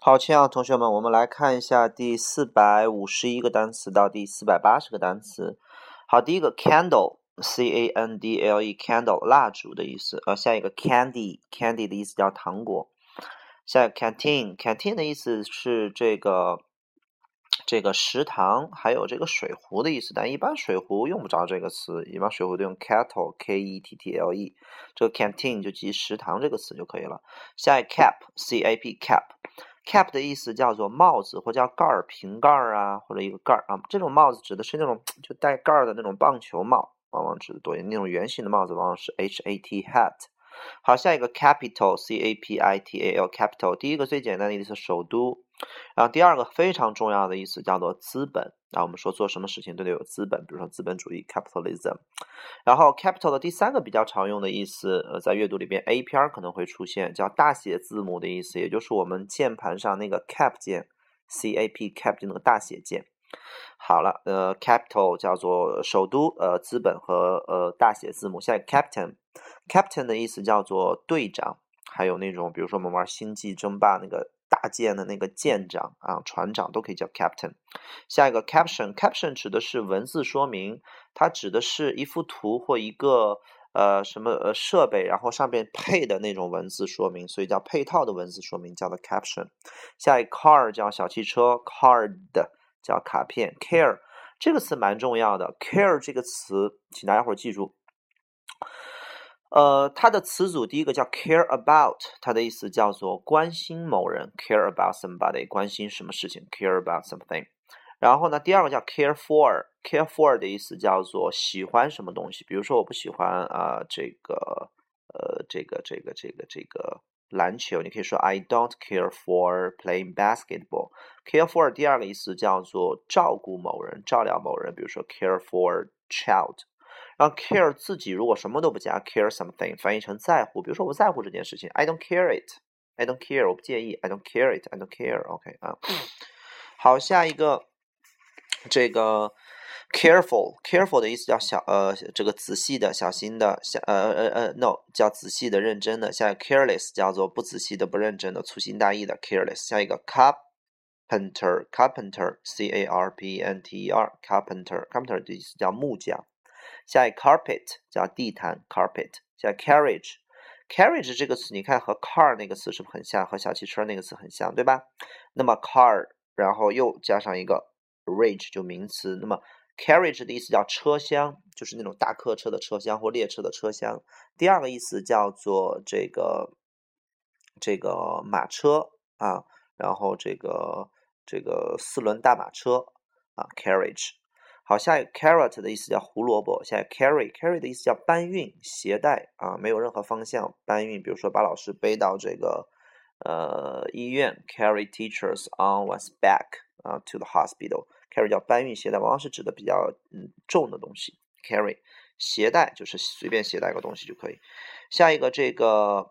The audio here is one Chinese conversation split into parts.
好，亲爱的同学们，我们来看一下第451个单词到第480个单词。好，第一个 candle，C-A-N-D-L-E candle 蜡烛的意思。下一个 candy 的意思叫糖果。下一个 canteen 的意思是这个食堂，还有这个水壶的意思，但一般水壶用不着这个词，一般水壶都用 kettle K-E-T-T-L-E， 这个 canteen 就记食堂这个词就可以了。下一个 cap C-A-P cap 的意思叫做帽子，或叫盖儿、瓶盖儿啊，或者一个盖儿啊。这种帽子指的是那种就带盖儿的那种棒球帽，往往指的多一点。那种圆形的帽子往往是 hat hat。好，下一个 capital C-A-P-I-T-A-L capital， 第一个最简单的意思是首都，然后第二个非常重要的意思叫做资本。我们说做什么事情都得有资本，比如说资本主义 capitalism。然后 capital 的第三个比较常用的意思，在阅读里边 A 篇可能会出现，叫大写字母的意思，也就是我们键盘上那个 cap 键 C-A-P cap 就那个大写键。好了，capital 叫做首都，资本和大写字母。下一个 captain 的意思叫做队长，还有那种比如说我们玩星际争霸那个大舰的那个舰长啊，船长都可以叫 captain。下一个 caption 指的是文字说明，它指的是一幅图或一个设备，然后上面配的那种文字说明，所以叫配套的文字说明，叫做 caption。下一个 car 叫小汽车 ，card 叫卡片 ，care 这个词蛮重要的 ，care 这个词，请大家伙儿记住。它的词组第一个叫 care about， 它的意思叫做关心某人 ，care about somebody， 关心什么事情 ，care about something。然后呢，第二个叫 care for，care for 的意思叫做喜欢什么东西，比如说我不喜欢这个篮球，你可以说 I don't care for playing basketball。care for 第二个意思叫做照顾某人，照料某人，比如说 care for child。然后 care 自己如果什么都不加 care something 翻译成在乎，比如说我在乎这件事情 I don't care it，I don't care 我不介意 I don't care it，I don't care，OK 啊。好，下一个这个 careful 的意思叫这个仔细的、小心的，no 叫仔细的、认真的。下一个 careless 叫做不仔细的、不认真的、粗心大意的 careless。下一个 carpenter C-A-R-P-E-N-T-E-R carpenter 的意思叫木匠。下一个 carpet 叫地毯 carpet。下一个 carriage 这个词你看和 car 那个词是不是很像，和小汽车那个词很像，对吧？那么 car 然后又加上一个 rage 就名词，那么 carriage 的意思叫车厢，就是那种大客车的车厢或列车的车厢。第二个意思叫做这个马车啊，然后这个四轮大马车啊 carriage。好，下一个 carrot 的意思叫胡萝卜，下一个 carry 的意思叫搬运、携带啊，没有任何方向搬运，比如说把老师背到这个医院 carry teachers on one's back to the hospital。 carry 叫搬运、携带，往往是指的比较重的东西 carry。 携带就是随便携带个东西就可以。下一个这个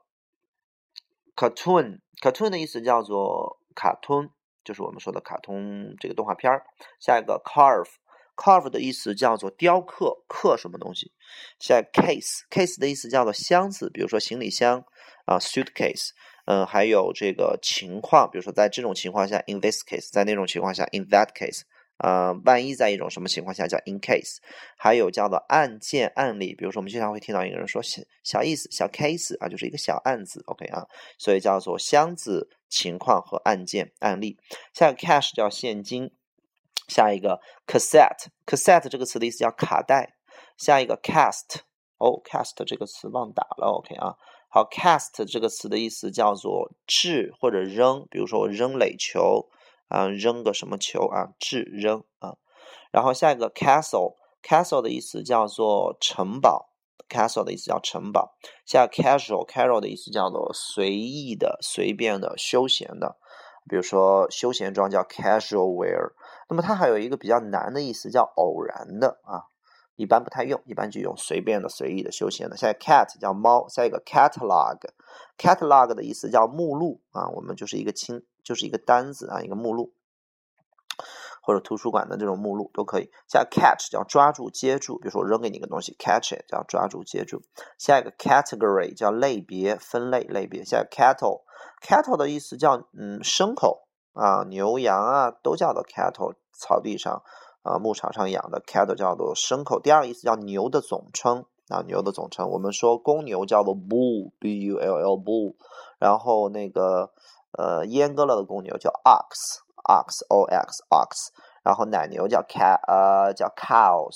cartoon 的意思叫做卡通，就是我们说的卡通这个动画片。下一个 carve 的意思叫做雕刻，刻什么东西。下一个 case 的意思叫做箱子，比如说行李箱suitcase。还有这个情况，比如说在这种情况下 in this case， 在那种情况下 in that case。万一在一种什么情况下叫 in case。还有叫做案件、案例，比如说我们经常会听到一个人说小意思、小 case 啊，就是一个小案子 OK 啊，所以叫做箱子、情况和案件、案例。下一个 cash 叫现金。下一个 cassette 这个词的意思叫卡带。下一个 cast 这个词忘打了 OK 啊。好 cast 这个词的意思叫做掷或者扔，比如说我扔垒球扔个什么球掷扔啊。然后下一个 castle 的意思叫做城堡， castle 的意思叫城堡。下一个 casual 的意思叫做随意的、随便的、休闲的，比如说休闲装叫 casual wear。那么它还有一个比较难的意思叫偶然的一般不太用，一般就用随便的、随意的、休闲的。下一个 cat 叫猫。下一个 catalog 的意思叫目录我们就是一个单子一个目录。 或者图书馆的这种目录都可以。下一个 catch 叫抓住接住，比如说我扔给你一个东西 catch it 叫抓住接住。下一个 category 叫类别分类类别。下一个 cattle 的意思叫牲口啊，牛羊啊都叫做 cattle， 草地上牧场上养的 cattle 叫做牲口。第二个意思叫牛的总称啊，牛的总称，我们说公牛叫做 bull bull bull， 然后那个阉割了的公牛叫 ox ox， 然后奶牛叫叫 cow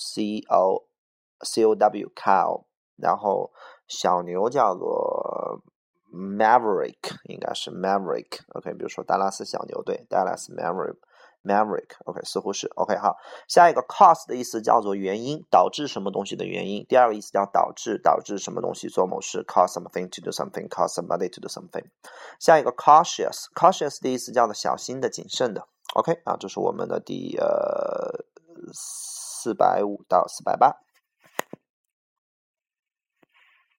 cow cow， 然后小牛叫做 maverick， 应该是 maverick OK， 比如说达拉斯小牛队 Dallas Maverick OK， 似乎是 OK 好。下一个 cause 的意思叫做原因，导致什么东西的原因。第二个意思叫导致什么东西做某事 cause something to do something cause somebody to do something。 下一个 cautious 的意思叫做小心的谨慎的 OK 啊，这是我们的第450到480。